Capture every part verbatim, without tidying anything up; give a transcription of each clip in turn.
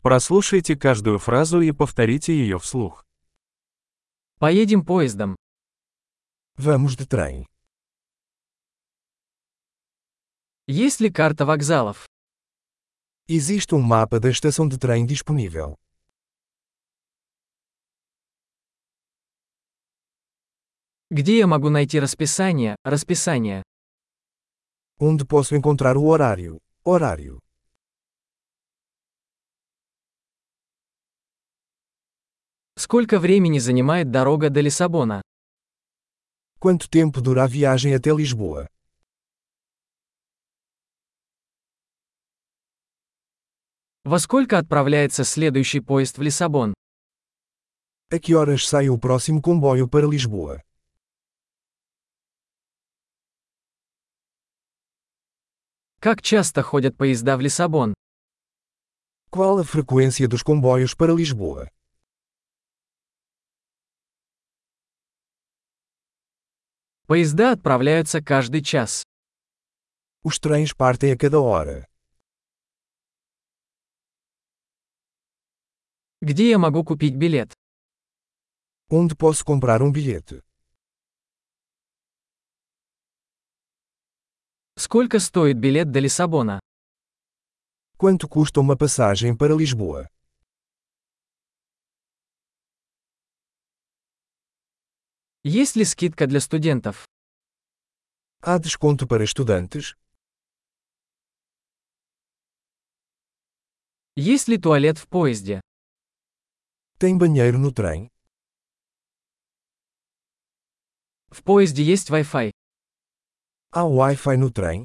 Прослушайте каждую фразу и повторите ее вслух. Поедем поездом. Vamos de trem. Есть ли карта вокзалов? Existe um mapa da estação de trem disponível. Где я могу найти расписание, расписание? Onde posso encontrar o horário? Horário. Сколько времени занимает дорога до Лиссабона? Quanto tempo dura a viagem até Lisboa? Во сколько отправляется следующий поезд в Лиссабон? A que horas sai o próximo comboio para Lisboa? Как часто ходят поезда в Лиссабон? Qual a frequência dos comboios para Lisboa? Поезда отправляются каждый час. Os trens partem a cada hora. Где я могу купить билет? Onde posso comprar um bilhete? Сколько стоит билет до Лиссабона? Quanto custa uma passagem para Lisboa? Есть ли скидка для студентов? Há desconto para estudantes? Есть ли туалет в поезде? Tem banheiro no trem? В поезде есть Wi-Fi. Há Wi-Fi no trem?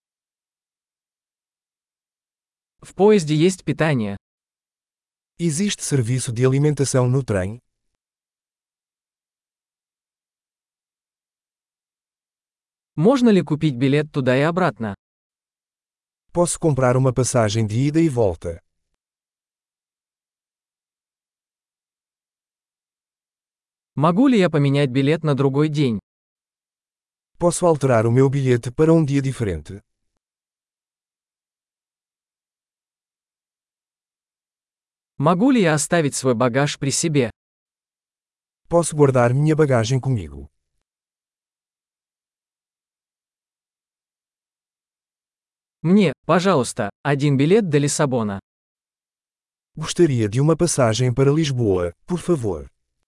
В поезде есть питание. Existe serviço de alimentação no trem? Можно ли купить билет туда и обратно? Posso comprar uma passagem de ida e volta? Могу ли я поменять билет на другой день? Posso alterar o meu bilhete para um dia diferente? Могу ли я оставить свой багаж при себе? Posso guardar minha bagagem comigo? Мне, пожалуйста, один билет до Лиссабона. Gostaria de uma passagem para Lisboa, por favor.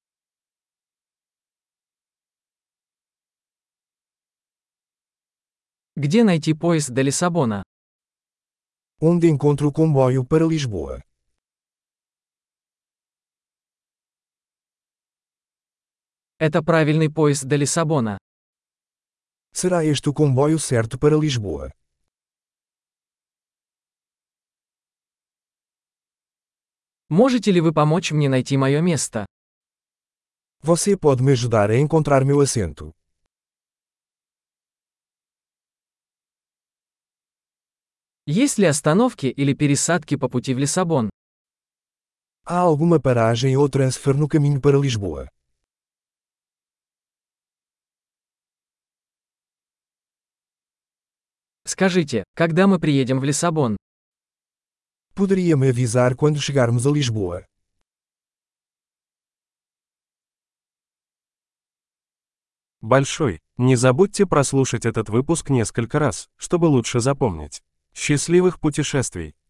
Где найти поезд до Лиссабона? Onde encontro o comboio para Lisboa? Это правильный поезд до Лиссабона. Será este o comboio certo para Lisboa? Можете ли вы помочь мне найти мое место? Você pode me ajudar a encontrar meu assento? Есть ли остановки или пересадки по пути в Лиссабон? Há alguma paragem ou transfer no caminho para Lisboa? Скажите, когда мы приедем в Лиссабон? Poderia me avisar quando chegarmos a Lisboa? Большой. Не забудьте прослушать этот выпуск несколько раз, чтобы лучше запомнить. Счастливых путешествий!